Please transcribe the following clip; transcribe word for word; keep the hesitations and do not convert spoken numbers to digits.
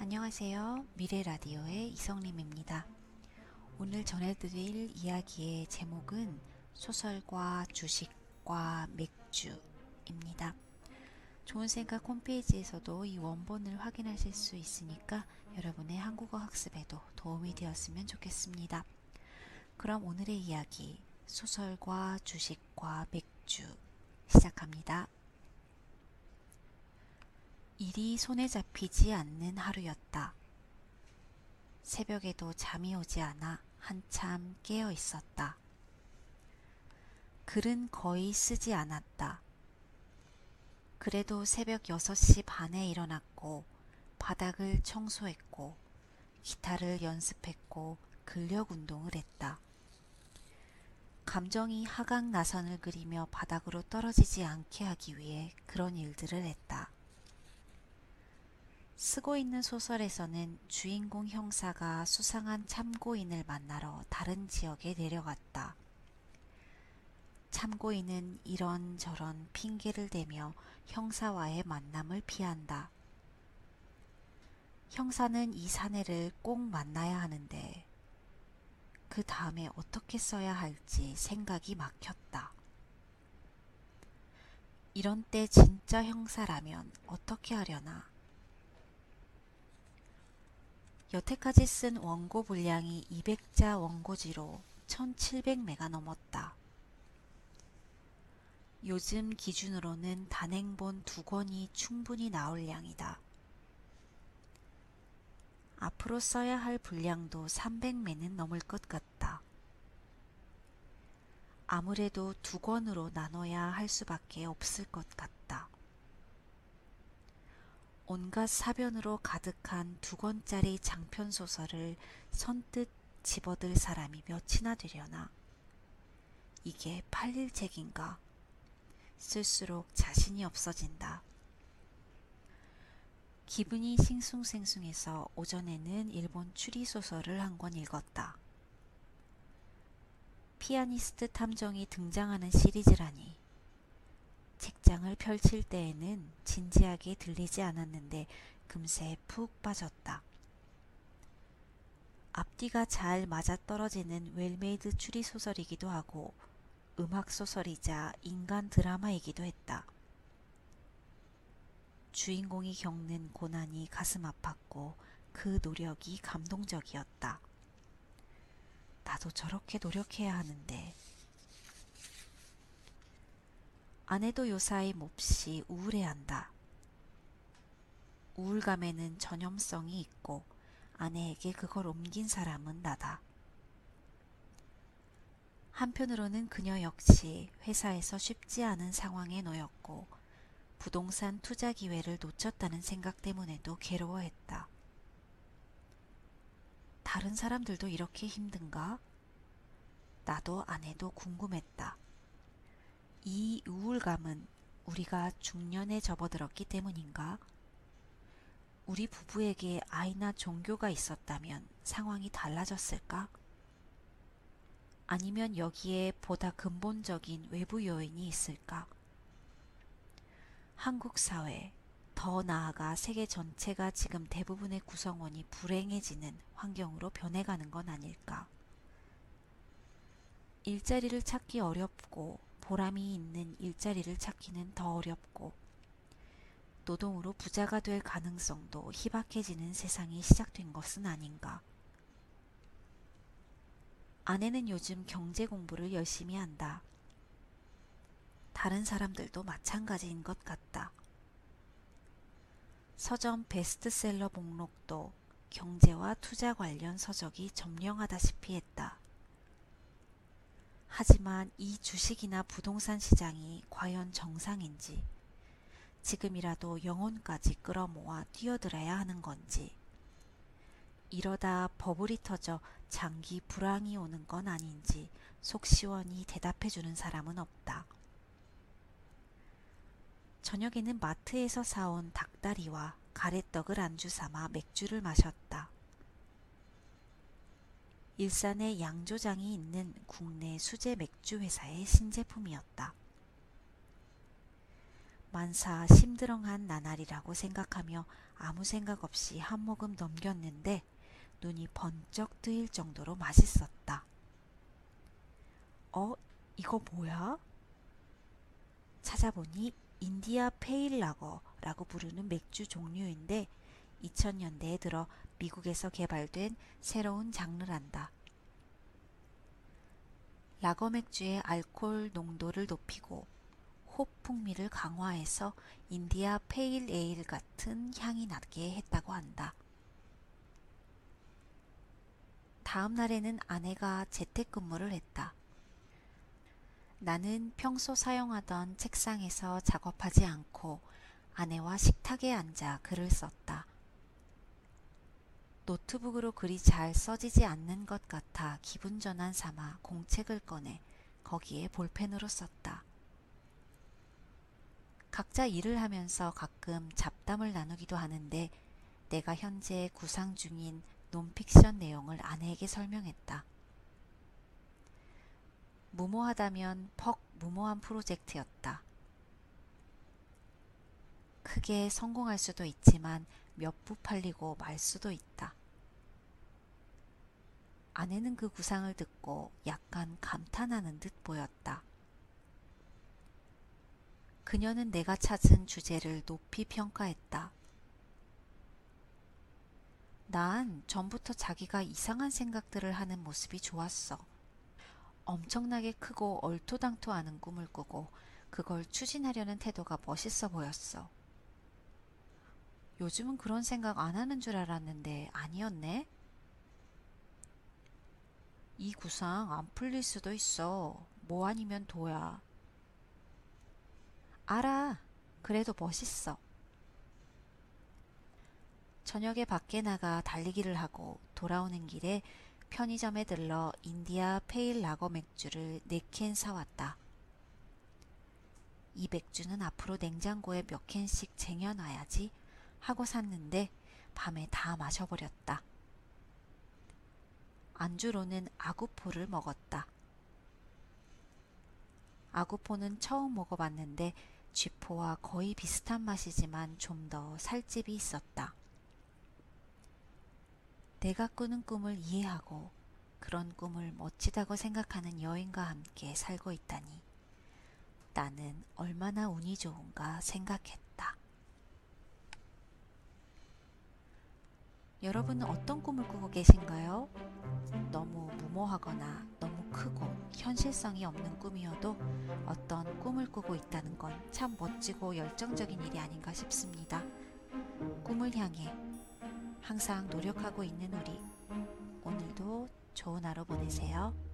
안녕하세요. 미래라디오의 이성림입니다. 오늘 전해드릴 이야기의 제목은 소설과 주식과 맥주입니다. 좋은 생각 홈페이지에서도 이 원본을 확인하실 수 있으니까 여러분의 한국어 학습에도 도움이 되었으면 좋겠습니다. 그럼 오늘의 이야기, 소설과 주식과 맥주 시작합니다. 일이 손에 잡히지 않는 하루였다. 새벽에도 잠이 오지 않아 한참 깨어 있었다. 글은 거의 쓰지 않았다. 그래도 새벽 여섯 시 반에 일어났고 바닥을 청소했고 기타를 연습했고 근력 운동을 했다. 감정이 하강 나선을 그리며 바닥으로 떨어지지 않게 하기 위해 그런 일들을 했다. 쓰고 있는 소설에서는 주인공 형사가 수상한 참고인을 만나러 다른 지역에 내려갔다. 참고인은 이런저런 핑계를 대며 형사와의 만남을 피한다. 형사는 이 사내를 꼭 만나야 하는데 그 다음에 어떻게 써야 할지 생각이 막혔다. 이런 때 진짜 형사라면 어떻게 하려나? 여태까지 쓴 원고 분량이 이백 자 원고지로 천칠백 메가 넘었다. 요즘 기준으로는 단행본 두 권이 충분히 나올 양이다. 앞으로 써야 할 분량도 삼백 메는 넘을 것 같다. 아무래도 두 권으로 나눠야 할 수밖에 없을 것 같다. 온갖 사변으로 가득한 두 권짜리 장편소설을 선뜻 집어들 사람이 몇이나 되려나? 이게 팔릴 책인가? 쓸수록 자신이 없어진다. 기분이 싱숭생숭해서 오전에는 일본 추리소설을 한 권 읽었다. 피아니스트 탐정이 등장하는 시리즈라니. 책장을 펼칠 때에는 진지하게 들리지 않았는데 금세 푹 빠졌다. 앞뒤가 잘 맞아떨어지는 웰메이드 추리소설이기도 하고 음악소설이자 인간 드라마이기도 했다. 주인공이 겪는 고난이 가슴 아팠고 그 노력이 감동적이었다. 나도 저렇게 노력해야 하는데. 아내도 요사이 몹시 우울해한다. 우울감에는 전염성이 있고 아내에게 그걸 옮긴 사람은 나다. 한편으로는 그녀 역시 회사에서 쉽지 않은 상황에 놓였고 부동산 투자 기회를 놓쳤다는 생각 때문에도 괴로워했다. 다른 사람들도 이렇게 힘든가? 나도 아내도 궁금했다. 이 우울감은 우리가 중년에 접어들었기 때문인가? 우리 부부에게 아이나 종교가 있었다면 상황이 달라졌을까? 아니면 여기에 보다 근본적인 외부 요인이 있을까? 한국 사회, 더 나아가 세계 전체가 지금 대부분의 구성원이 불행해지는 환경으로 변해가는 건 아닐까? 일자리를 찾기 어렵고 보람이 있는 일자리를 찾기는 더 어렵고 노동으로 부자가 될 가능성도 희박해지는 세상이 시작된 것은 아닌가. 아내는 요즘 경제 공부를 열심히 한다. 다른 사람들도 마찬가지인 것 같다. 서점 베스트셀러 목록도 경제와 투자 관련 서적이 점령하다시피 했다. 하지만 이 주식이나 부동산 시장이 과연 정상인지, 지금이라도 영혼까지 끌어모아 뛰어들어야 하는 건지, 이러다 버블이 터져 장기 불황이 오는 건 아닌지 속 시원히 대답해주는 사람은 없다. 저녁에는 마트에서 사온 닭다리와 가래떡을 안주 삼아 맥주를 마셨다. 일산에 양조장이 있는 국내 수제 맥주 회사의 신제품이었다. 만사 심드렁한 나날이라고 생각하며 아무 생각 없이 한 모금 넘겼는데 눈이 번쩍 뜨일 정도로 맛있었다. 어? 이거 뭐야? 찾아보니 인디아 페일 라거라고 부르는 맥주 종류인데 이천 년대에 들어 미국에서 개발된 새로운 장르란다. 라거 맥주의 알코올 농도를 높이고 홉 풍미를 강화해서 인디아 페일 에일 같은 향이 나게 했다고 한다. 다음 날에는 아내가 재택근무를 했다. 나는 평소 사용하던 책상에서 작업하지 않고 아내와 식탁에 앉아 글을 썼다. 노트북으로 글이 잘 써지지 않는 것 같아 기분 전환 삼아 공책을 꺼내 거기에 볼펜으로 썼다. 각자 일을 하면서 가끔 잡담을 나누기도 하는데 내가 현재 구상 중인 논픽션 내용을 아내에게 설명했다. 무모하다면 퍽 무모한 프로젝트였다. 크게 성공할 수도 있지만 몇 부 팔리고 말 수도 있다. 아내는 그 구상을 듣고 약간 감탄하는 듯 보였다. 그녀는 내가 찾은 주제를 높이 평가했다. 난 전부터 자기가 이상한 생각들을 하는 모습이 좋았어. 엄청나게 크고 얼토당토하는 꿈을 꾸고 그걸 추진하려는 태도가 멋있어 보였어. 요즘은 그런 생각 안 하는 줄 알았는데 아니었네? 이 구상 안 풀릴 수도 있어. 뭐 아니면 도야. 알아. 그래도 멋있어. 저녁에 밖에 나가 달리기를 하고 돌아오는 길에 편의점에 들러 인디아 페일 라거 맥주를 네 캔 사왔다. 이 맥주는 앞으로 냉장고에 몇 캔씩 쟁여놔야지 하고 샀는데 밤에 다 마셔버렸다. 안주로는 아구포를 먹었다. 아구포는 처음 먹어봤는데 쥐포와 거의 비슷한 맛이지만 좀 더 살집이 있었다. 내가 꾸는 꿈을 이해하고 그런 꿈을 멋지다고 생각하는 여인과 함께 살고 있다니 나는 얼마나 운이 좋은가 생각했다. 여러분은 어떤 꿈을 꾸고 계신가요? 너무 무모하거나 너무 크고 현실성이 없는 꿈이어도 어떤 꿈을 꾸고 있다는 건 참 멋지고 열정적인 일이 아닌가 싶습니다. 꿈을 향해 항상 노력하고 있는 우리, 오늘도 좋은 하루 보내세요.